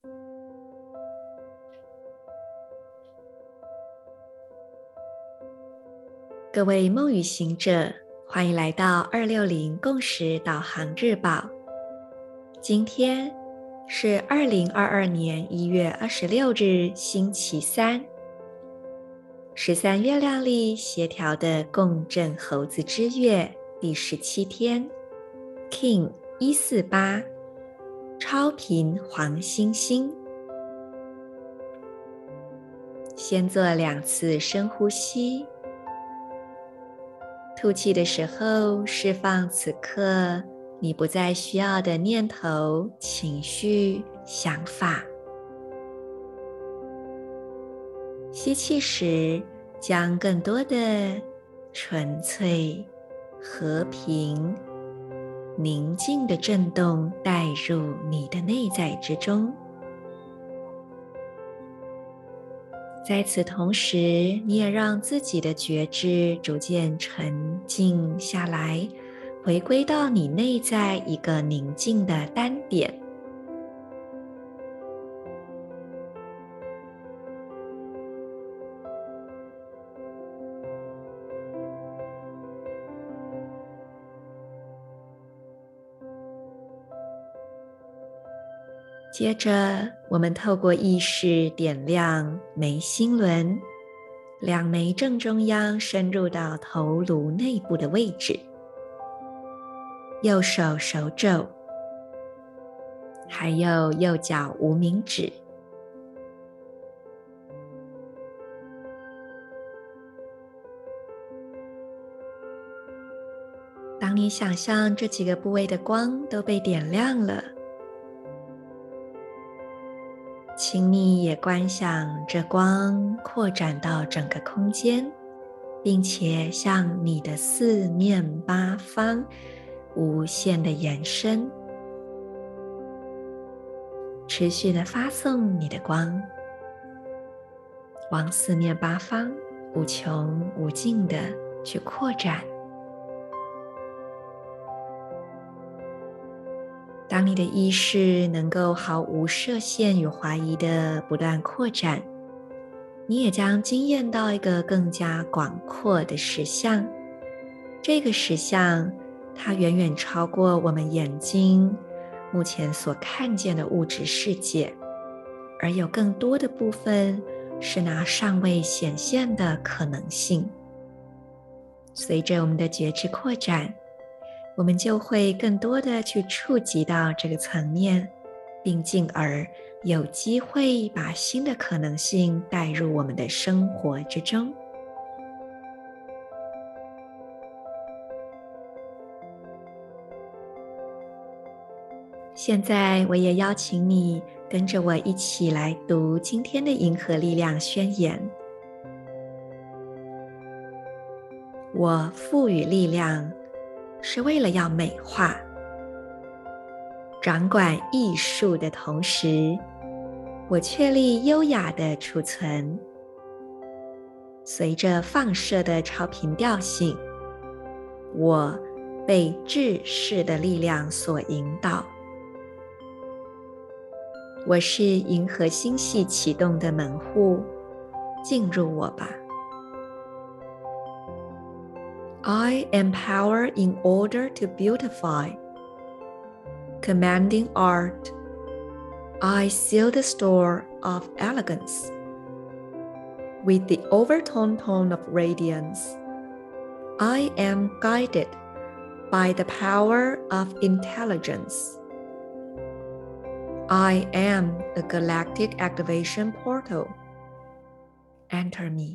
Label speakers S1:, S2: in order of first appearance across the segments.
S1: 各位梦与行者，欢迎来到260共识导航日报。今天是2022年1月26日，星期三，13月亮历协调的共振猴子之月第17天 ，King 148，超频黄星星。先做2次深呼吸。吐气的时候，释放此刻你不再需要的念头、情绪、想法。吸气时，将更多的纯粹、和平、宁静的震动带入你的内在之中。在此同时，你也让自己的觉知逐渐沉静下来，回归到你内在一个宁静的单点。接着，我们透过意识点亮眉心轮，2眉正中央深入到头颅内部的位置，右手手肘，还有右脚无名指。当你想象这几个部位的光都被点亮了，请你也观想这光扩展到整个空间，并且向你的四面八方无限的延伸，持续的发送你的光，往四面八方无穷无尽的去扩展。当你的意识能够毫无设限与怀疑的不断扩展，你也将经验到一个更加广阔的实相。这个实相，它远远超过我们眼睛目前所看见的物质世界，而有更多的部分是那尚未显现的可能性。随着我们的觉知扩展，我们就会更多的去触及到这个层面，并进而有机会把新的可能性带入我们的生活之中。现在我也邀请你跟着我一起来读今天的银河力量宣言。我赋予力量是为了要美化，掌管艺术的同时，我确立优雅的储存。随着放射的超频调性，我被制式的力量所引导。我是银河星系启动的门户，进入我吧。I am power in order to beautify. Commanding art, I seal the store of elegance. With the overtone tone of radiance, I am guided by the power of intelligence. I am a galactic activation portal. Enter me.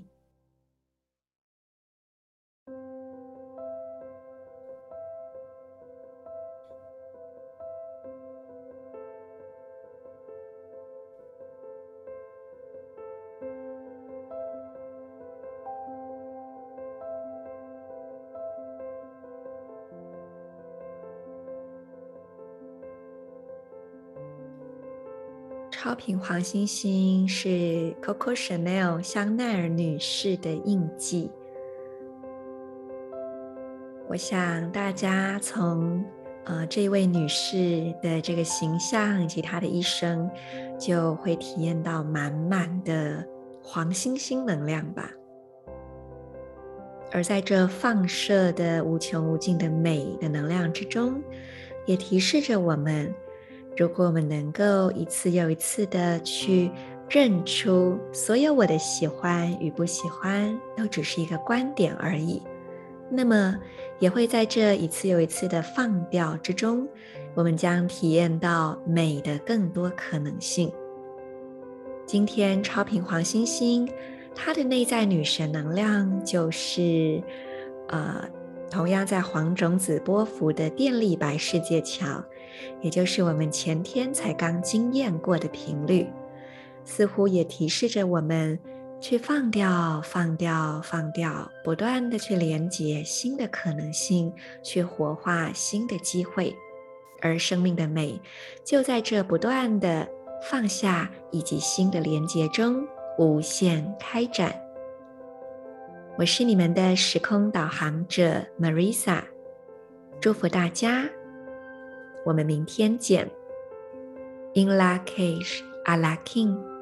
S1: 超频黄星星是 Coco Chanel 香奈儿女士的印记。我想大家从这一位女士的这个形象以及她的一生，就会体验到满满的黄星星能量吧。而在这放射的无穷无尽的美的能量之中，也提示着我们，如果我们能够一次又一次的去认出所有我的喜欢与不喜欢都只是一个观点而已，那么也会在这一次又一次的放掉之中，我们将体验到美的更多可能性。今天超频黄星星它的内在女神能量就是同样在黄种子波幅的电力白世界桥，也就是我们前天才刚经验过的频率，似乎也提示着我们去放掉放掉放掉，不断的去连接新的可能性，去活化新的机会。而生命的美就在这不断的放下以及新的连接中无限开展。我是你们的时空导航者 Marisa， 祝福大家，我们明天见。In la cage, a la king。